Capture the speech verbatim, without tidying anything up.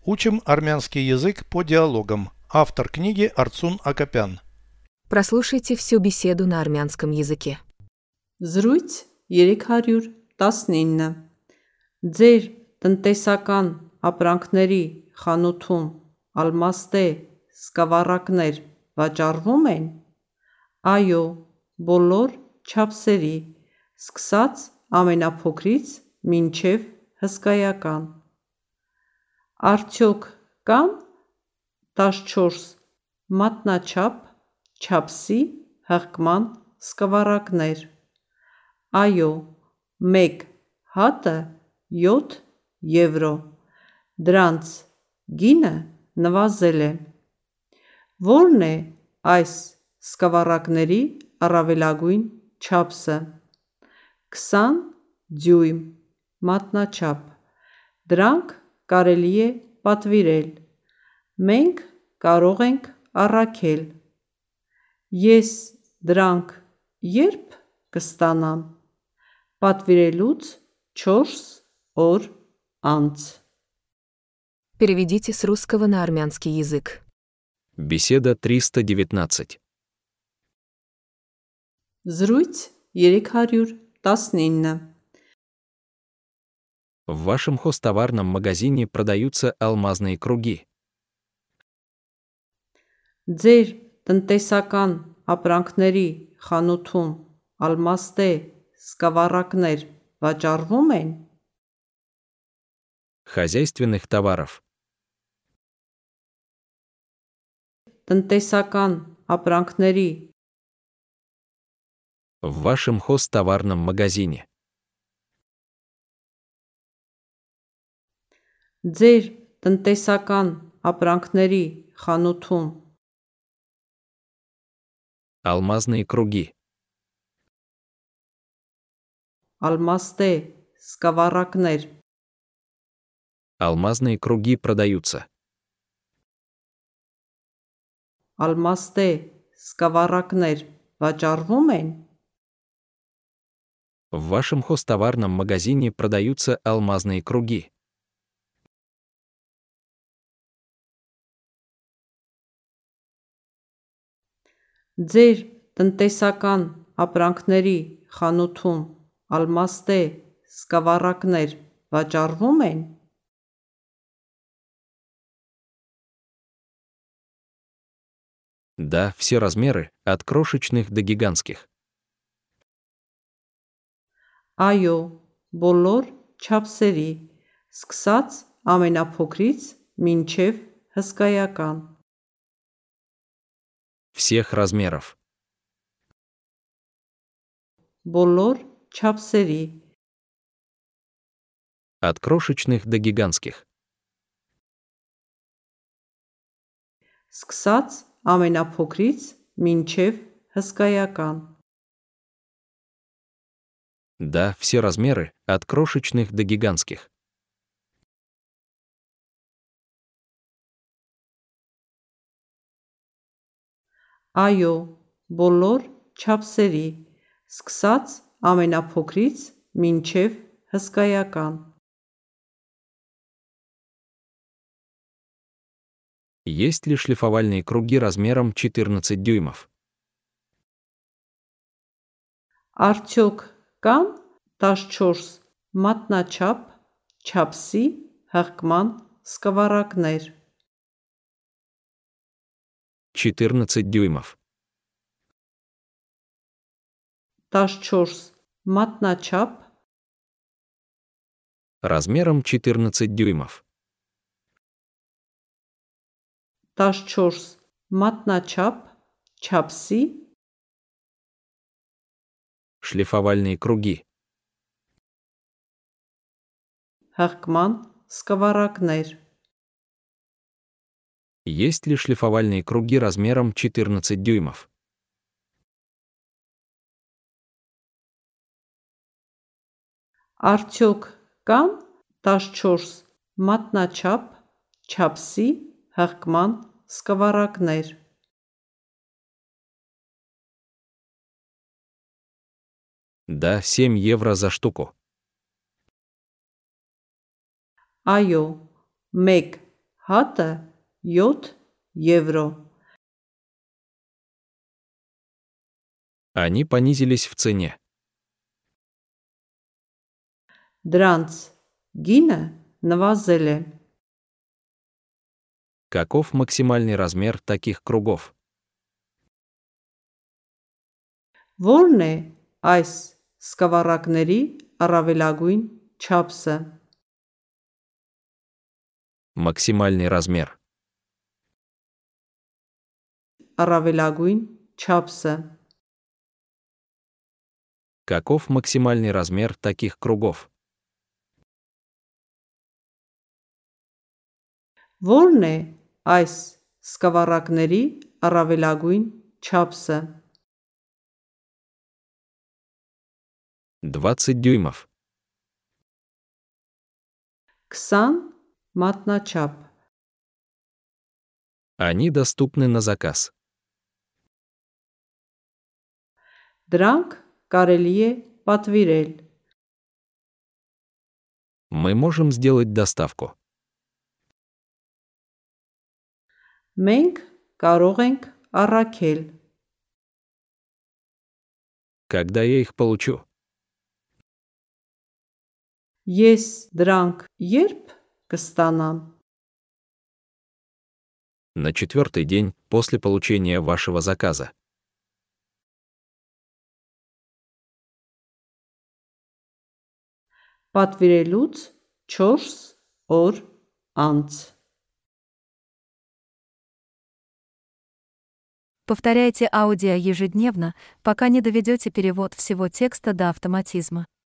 Учим армянский язык по диалогам. Автор книги Арцун Акопян. Прослушайте всю беседу на армянском языке. Զրույց երեք հարյուր տասնինը Ձեր տնտեսական ապրանքների խանութում ալմաստե սկավառակներ վաճառվում են։ Այո, բոլոր չափսերի, սկսած ամենափոքրից մինչև հսկայական։ Արդյոք կան տասնչորս մատնաչափ չափսի հղկման սկավառակներ։ Այո, մեկ հատը յոթ եվրո։ Դրանց գինը նվազել է։ Ո՞րն է այս սկավառակների առավելագույն չափսը։ քսան դյույմ մատնաչափ։ Դրանք կարելի է պատվիրել։ Մենք կարող ենք առաքել։ Ես դրանք ե՞րբ կստանամ։ Պատվիրելուց չորս օր անց։ Переведите с русского на армянский язык. Беседа триста девятнадцать. Զրույց երեք հարյուր տասնինը В вашем хозтоварном магазине продаются алмазные круги. Ձեր տնտեսական ապրանքների խանութում ալմաստե սկավառակներ վաճառվում են։ Хозяйственных товаров. Տնտեսական ապրանքների В вашем хозтоварном магазине. Ձեր տնտեսական ապրանքների խանութում Алмазные круги. ալմաստե սկավառակներ Алмазные круги продаются. ալմաստե սկավառակներ վաճառվում են։ В вашем хозтоварном магазине продаются алмазные круги. Ձեր տնտեսական ապրանքների խանութում ալմաստե սկավառակներ վաճառվում են։ Да, все размеры, от крошечных до гигантских. Այո, բոլոր չափսերի, սկսած ամենափոքրից մինչև հսկայական։ Всех размеров. Բոլոր չափսերի, От крошечных до гигантских. սկսած ամենափոքրից մինչև հսկայական։ Да, все размеры, от крошечных до гигантских. Այո, բոլոր չափսերի, սկսած ամենափոքրից մինչև հսկայական։ Есть ли шлифовальные круги размером четырнадцать дюймов? Արդյոք կան տասնչորս մատնաչափ չափսի հղկման սկավառակներ։ четырнадцать дюймов. տասնչորս մատնաչափ Размером четырнадцать дюймов. տասնչորս մատնաչափ չափսի Шлифовальные круги. հղկման սկավառակներ։ Есть ли шлифовальные круги размером четырнадцать дюймов? Արդյոք կան տասնչորս մատնաչափ չափսի հղկման սկավառակներ։ Да, семь евро за штуку. Այո, մեկ Հատը յոթ եվրո։ Они понизились в цене. Դրանց գինը նվազել է։ Каков максимальный размер таких кругов? Որն է այս սկավառակների առավելագույն չափսը։ Максимальный размер. Առավելագույն չափսը։ Каков максимальный размер таких кругов? Որն է այս սկավառակների առավելագույն չափսը։ двадцать дюймов. քսան մատնաչափ։ Они доступны на заказ. Դրանք կարելի է պատվիրել։ Мы можем сделать доставку. Մենք կարող ենք առաքել։ Когда я их получу? Ես դրանք երբ կստանամ։ На четвертый день после получения вашего заказа. Պատվիրելուց չորս օր անց։ Повторяйте аудио ежедневно, пока не доведете перевод всего текста до автоматизма.